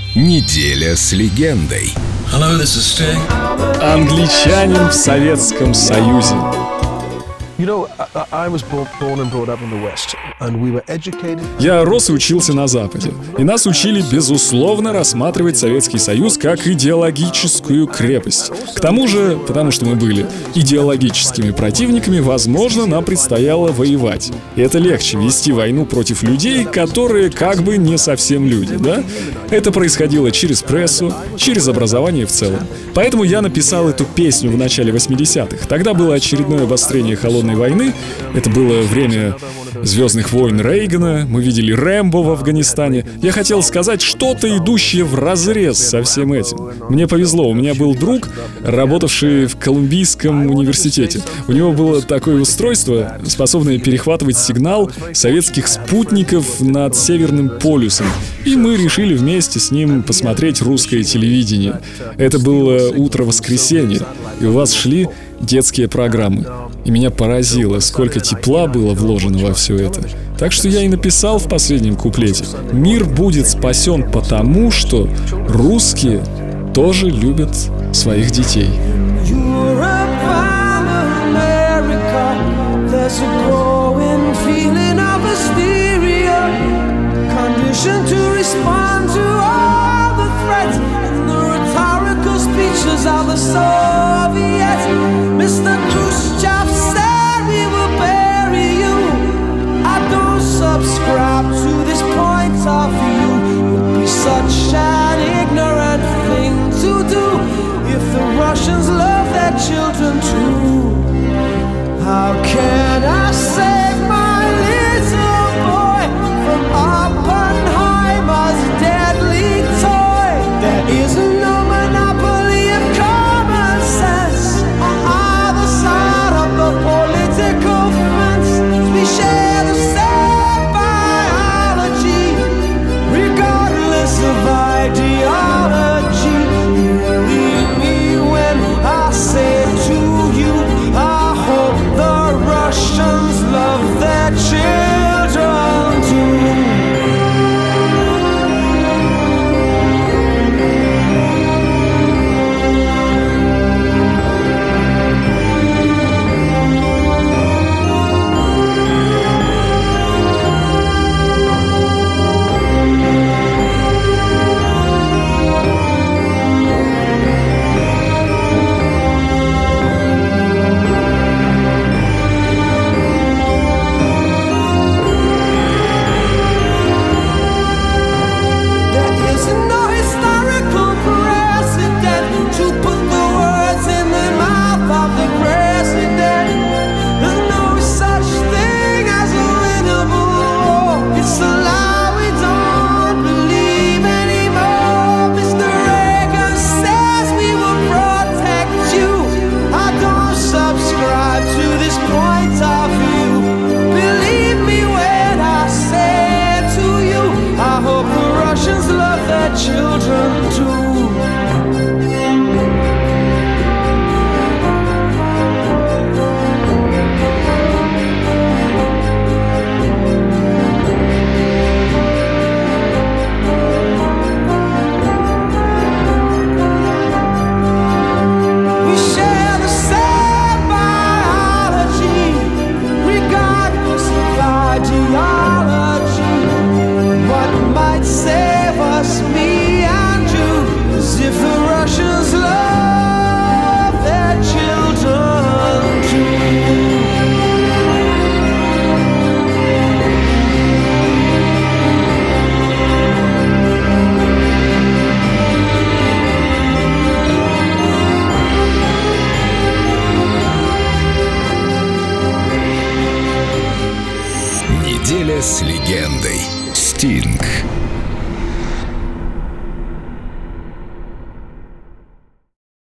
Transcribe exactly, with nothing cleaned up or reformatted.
Неделя с легендой. Hello, this is Sting. Англичанин в Советском Союзе. Я рос и учился на Западе, и нас учили, безусловно, рассматривать Советский Союз как идеологическую крепость. К тому же, потому что мы были идеологическими противниками, возможно, нам предстояло воевать. И это легче вести войну против людей, которые как бы не совсем люди, да? Это происходило через прессу, через образование в целом. Поэтому я написал эту песню в начале восьмидесятых. Тогда было очередное обострение холодной войны. Это было время «Звездных войн» Рейгана. Мы видели Рэмбо в Афганистане. Я хотел сказать что-то, идущее вразрез со всем этим. Мне повезло, у меня был друг, работавший в Колумбийском университете. У него было такое устройство, способное перехватывать сигнал советских спутников над Северным полюсом. И мы решили вместе с ним посмотреть русское телевидение. Это было утро воскресенья, и у вас шли детские программы. И меня поразило, сколько тепла было вложено во все это. Так что я и написал в последнем куплете: «Мир будет спасен потому, что русские тоже любят своих детей». Mister Khrushchev said we will bury you. I don't subscribe to this point of view. It would be such an ignorant thing to do if the Russians love their children too. How can I save my little boy from Oppenheimer's deadly toy? There isn't no monopoly of common sense on either side of the political fence. We share the same biology, regardless of ideology. Believe me when I say to you, I hope the Russians love their children too. Children too. We share the same biology, regardless of ideology. What might save us, me and you, is if the Russians love their children too. Неделя с легендой. Стинг.